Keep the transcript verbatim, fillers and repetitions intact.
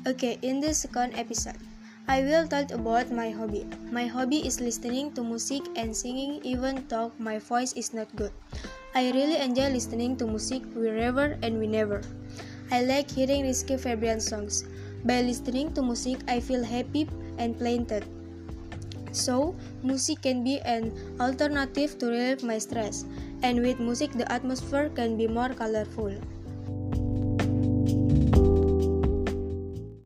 Okay, in this second episode, I will talk about my hobby. My hobby is listening to music and singing even though my voice is not good. I really enjoy listening to music wherever and whenever. I like hearing Rizky Febian songs. By listening to music, I feel happy and planted. So, music can be an alternative to relieve my stress, and with music the atmosphere can be more colorful.